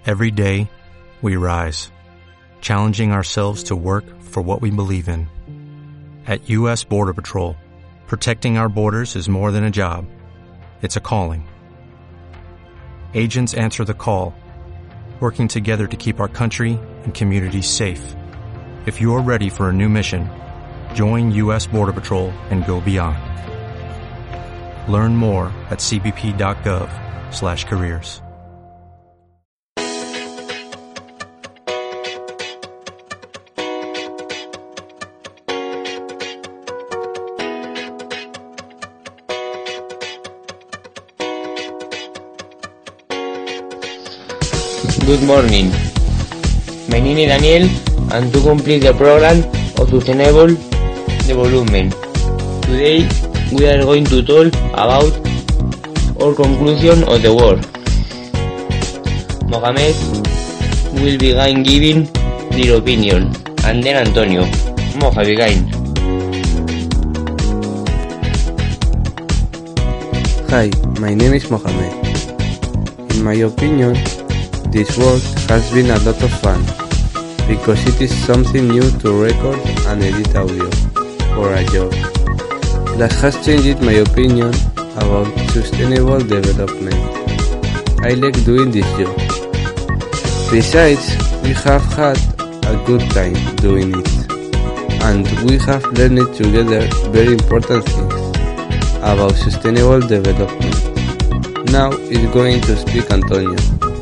Every day, we rise, challenging ourselves to work for what we believe in. At U.S. Border Patrol, protecting our borders is more than a job. It's a calling. Agents answer the call, working together to keep our country and communities safe. If you're ready for a new mission, join U.S. Border Patrol and go beyond. Learn more at cbp.gov/careers. Good morning. My name is Daniel, and to complete the program of Sustainable Development, today we are going to talk about our conclusion of the work. Mohamed will begin giving their opinion, and then Antonio. Moja, begin. Hi, my name is Mohamed. In my opinion, this work has been a lot of fun, because it is something new to record and edit audio for a job. That has changed my opinion about sustainable development. I like doing this job. Besides, we have had a good time doing it, and we have learned together very important things about sustainable development. Now is going to speak Antonio.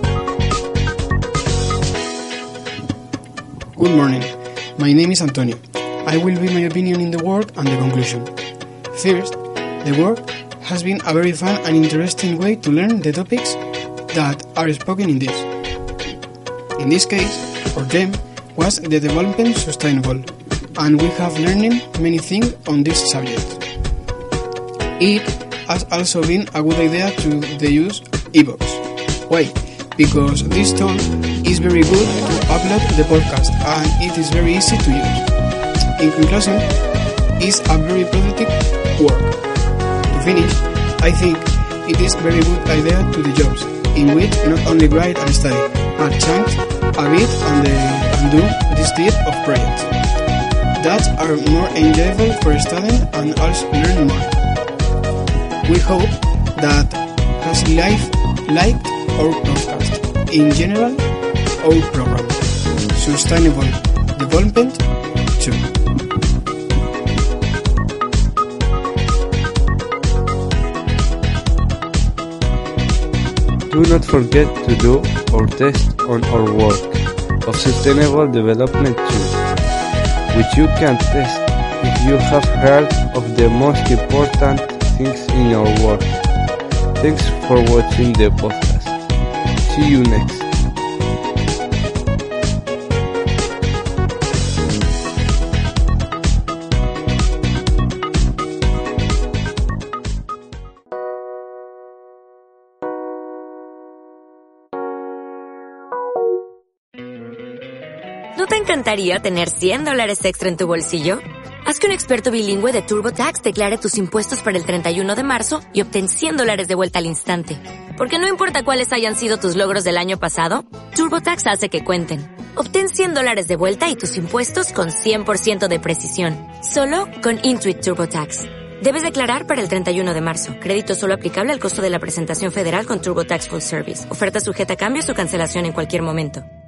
Good morning. My name is Antonio. I will give my opinion in the work and the conclusion. First, the work has been a very fun and interesting way to learn the topics that are spoken in this. In this case, for them, was the development sustainable, and we have learned many things on this subject. It has also been a good idea to use ebooks. Why? Because this tool is very good to upload the podcast, and it is very easy to use. In conclusion, it's a very productive work. To finish, I think it is very good idea to the jobs, in which not only write and study, but change a bit and do this type of projects that are more enjoyable for studying and also learn more. We hope that has liked our podcast. In general, our program, Sustainable Development 2. Do not forget to do our test on our work of Sustainable Development 2, which you can test if you have heard of the most important things in your work. Thanks for watching the podcast. See you next. ¿No te encantaría tener $100 extra en tu bolsillo? Haz que un experto bilingüe de TurboTax declare tus impuestos para el 31 de marzo y obtén $100 de vuelta al instante. Porque no importa cuáles hayan sido tus logros del año pasado, TurboTax hace que cuenten. Obtén $100 de vuelta y tus impuestos con 100% de precisión. Solo con Intuit TurboTax. Debes declarar para el 31 de marzo. Crédito solo aplicable al costo de la presentación federal con TurboTax Full Service. Oferta sujeta a cambios o cancelación en cualquier momento.